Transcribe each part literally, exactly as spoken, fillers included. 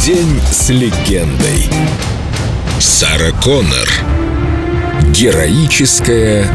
День с легендой. Сара Коннор. Героическая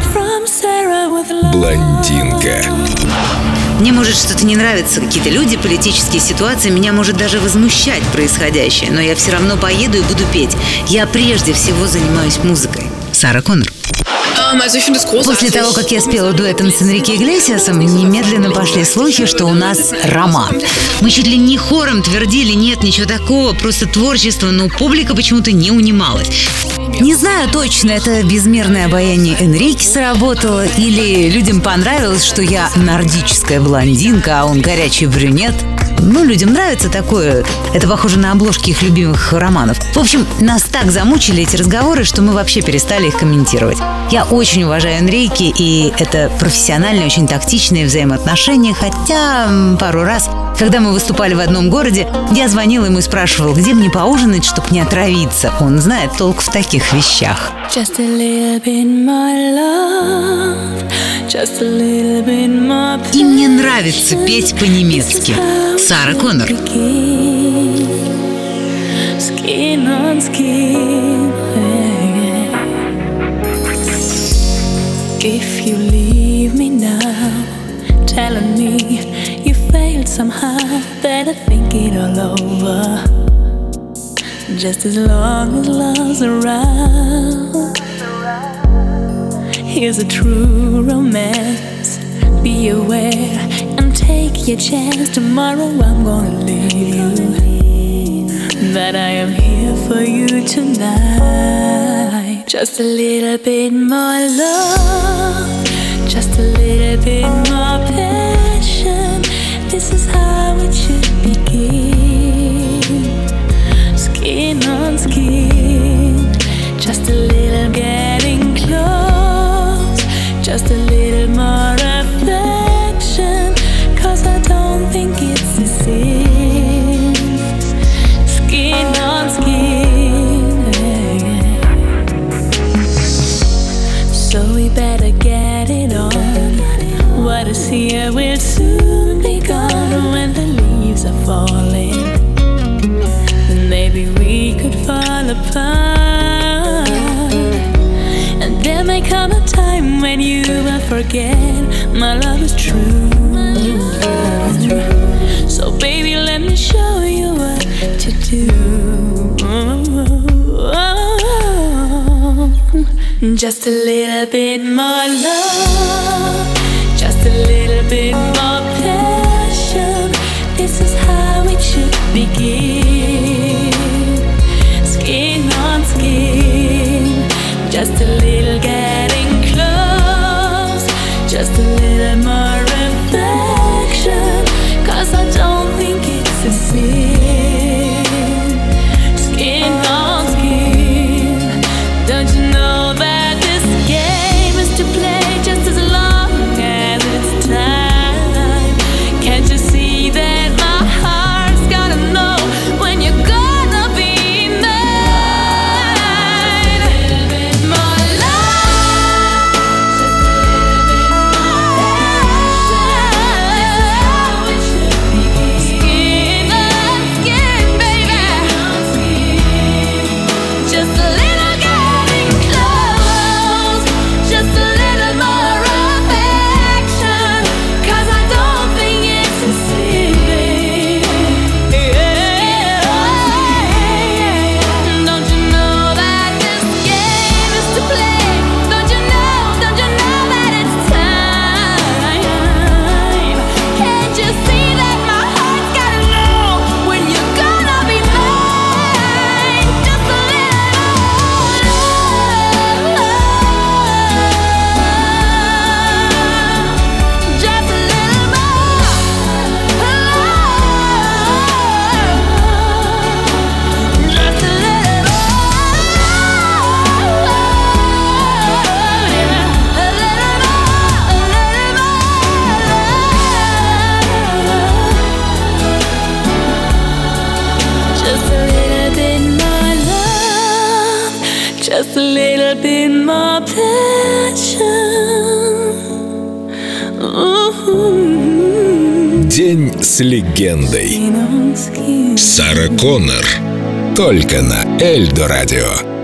блондинка. Мне может что-то не нравиться, какие-то люди, политические ситуации, меня может даже возмущать происходящее, но я все равно поеду и буду петь. Я прежде всего занимаюсь музыкой. Сара Коннор. После того, как я спела дуэтом с Энрике Иглесиасом, немедленно пошли слухи, что у нас роман. Мы чуть ли не хором твердили: нет, ничего такого, просто творчество, но публика почему-то не унималась. Не знаю точно, это безмерное обаяние Энрике сработало, или людям понравилось, что я нордическая блондинка, а он горячий брюнет. Ну, людям нравится такое. Это похоже на обложки их любимых романов. В общем, нас так замучили эти разговоры, что мы вообще перестали их комментировать. Я очень уважаю Энрике, и это профессиональные, очень тактичные взаимоотношения. Хотя пару раз, когда мы выступали в одном городе, я звонила ему и спрашивала, где мне поужинать, чтобы не отравиться. Он знает толк в таких вещах. Just a little bit more love, just a little bit more И мне нравится петь по-немецки. Сара Коннор. Skin on skin. If you leave me now, telling me you failed somehow, better think it all over. Just as long as love's around, here's a true romance. Be aware and take your chance. Tomorrow I'm gonna leave you, but I am here for you tonight. Just a little bit more love, just a little bit more passion. This is how it should begin. Skin on skin, just a little getting close, just a little more affection, 'cause I don't think it's the same. Skin on skin, yeah. So we better get it on. What is here will soon be gone. When the leaves are falling, then maybe we could fall apart. And there may come a time when you will forget my love is true. So baby, let me show you what to do. Just a little bit more love, just a little bit more passion. This is how it should begin. Skin on skin, just a little getting close, just a little more affection, 'cause I don't think it's the same. Skin on skin, don't you know that this game is to play just as long as it's time? Can't you see that my heart's gotta know when you're gonna be mine? A little bit more love, just a little bit more passion. This is how it should begin. Skin on skin, baby. Just a little getting close, just a little more affection, 'cause I don't think it's the same. Don't you know that this game is to play? Don't you know, don't you know that it's time? Can't you see that my heart's gotta know when you're gonna be mine? Just a little love, just a little more love, just a little just a little bit more love, just a little bit more passion. Ooh. День с легендой. Сара Коннор. Только на Эльдо радио.